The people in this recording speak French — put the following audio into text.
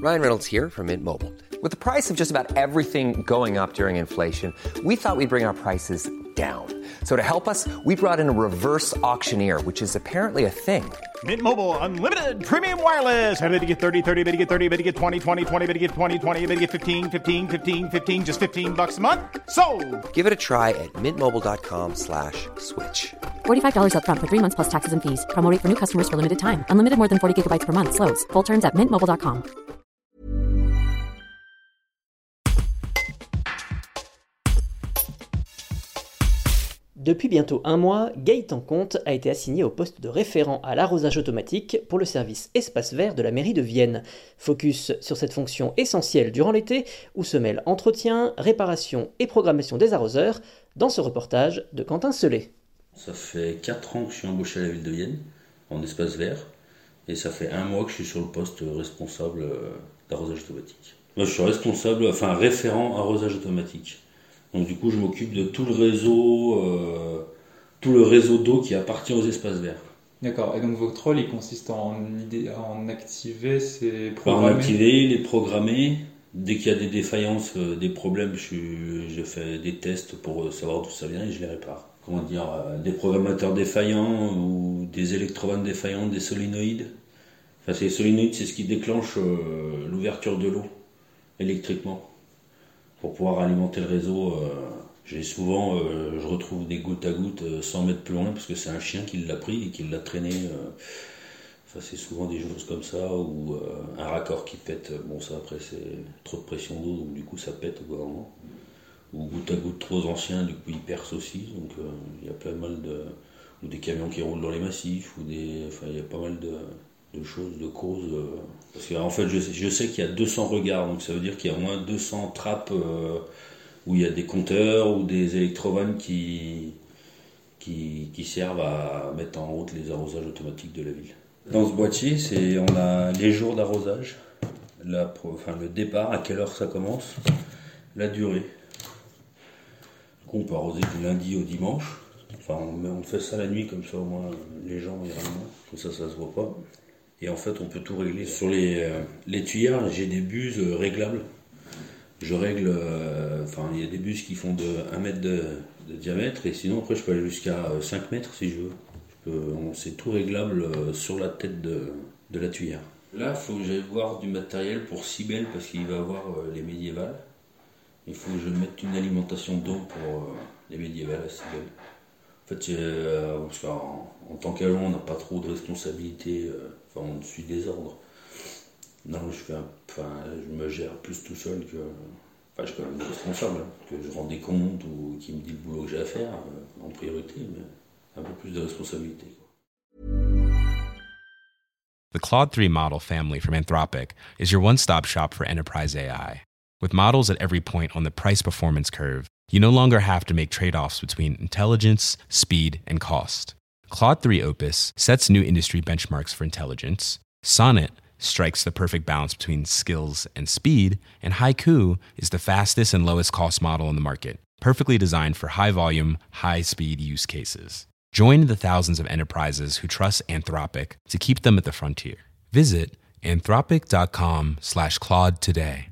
Ryan Reynolds here from Mint Mobile. With the price of just about everything going up during inflation, we thought we'd bring our prices down. So to help us, we brought in a reverse auctioneer, which is apparently a thing. Mint Mobile Unlimited Premium Wireless. How to get 30, 30, bit to get 30, bit to get 20, 20, 20, bit to get 20, 20, bit to get 15, 15, 15, 15, just $15 a month? Sold! Give it a try at mintmobile.com/switch. $45 up front for 3 months plus taxes and fees. Promo rate for new customers for limited time. Unlimited more than 40 gigabytes per month. Slows full terms at mintmobile.com. Depuis bientôt un mois, Gaëtan Comte a été assigné au poste de référent à l'arrosage automatique pour le service espace vert de la mairie de Vienne. Focus sur cette fonction essentielle durant l'été, où se mêlent entretien, réparation et programmation des arroseurs, dans ce reportage de Quentin Selet. Ça fait 4 ans que je suis embauché à la ville de Vienne, en espace vert, et ça fait 1 mois que je suis sur le poste responsable d'arrosage automatique. Moi, je suis référent arrosage automatique. Donc du coup, je m'occupe de tout le réseau d'eau qui appartient aux espaces verts. D'accord. Et donc votre rôle, il consiste en activer ces programmes. En activer, les programmer. Dès qu'il y a des défaillances, des problèmes, je fais des tests pour savoir d'où ça vient et je les répare. Des programmateurs défaillants ou des électrovannes défaillantes, des solénoïdes. Enfin, les solénoïdes, c'est ce qui déclenche l'ouverture de l'eau électriquement. Pour pouvoir alimenter le réseau, je retrouve des gouttes à gouttes 100 mètres plus loin parce que c'est un chien qui l'a pris et qui l'a traîné. C'est souvent des choses comme ça, ou un raccord qui pète. Bon, ça après c'est trop de pression d'eau, donc du coup ça pète au bout d'un moment. Ou goutte à goutte trop anciens, du coup ils percent aussi. Donc il y a pas mal ou des camions qui roulent dans les massifs, il y a pas mal de choses, de causes. Parce qu'en fait, je sais qu'il y a 200 regards, donc ça veut dire qu'il y a au moins 200 trappes où il y a des compteurs ou des électrovannes qui servent à mettre en route les arrosages automatiques de la ville. Dans ce boîtier, on a les jours d'arrosage, le départ, à quelle heure ça commence, la durée. Donc on peut arroser du lundi au dimanche. On fait ça la nuit, comme ça au moins les gens iront moins, comme ça se voit pas. Et en fait, on peut tout régler. Sur les tuyères, j'ai des buses réglables. Je règle, il y a des buses qui font de 1 mètre de diamètre, et sinon après je peux aller jusqu'à 5 mètres si je veux. C'est tout réglable sur la tête de la tuyère. Là, il faut que j'aille voir du matériel pour Cybèle, parce qu'il va avoir les médiévales. Il faut que je mette une alimentation d'eau pour les médiévales à Cybèle. En fait, parce qu'en tant qu'agent, on n'a pas trop de responsabilité, on suit des ordres. Non, je me gère plus tout seul que. Je suis quand même responsable, que je rends des comptes ou qui me dit le boulot que j'ai à faire en priorité, mais un peu plus de responsabilité. The Claude 3 model family from Anthropic is your one-stop shop for enterprise AI. With models at every point on the price-performance curve, you no longer have to make trade-offs between intelligence, speed, and cost. Claude 3 Opus sets new industry benchmarks for intelligence. Sonnet strikes the perfect balance between skills and speed. And Haiku is the fastest and lowest cost model in the market, perfectly designed for high-volume, high-speed use cases. Join the thousands of enterprises who trust Anthropic to keep them at the frontier. Visit anthropic.com/Claude today.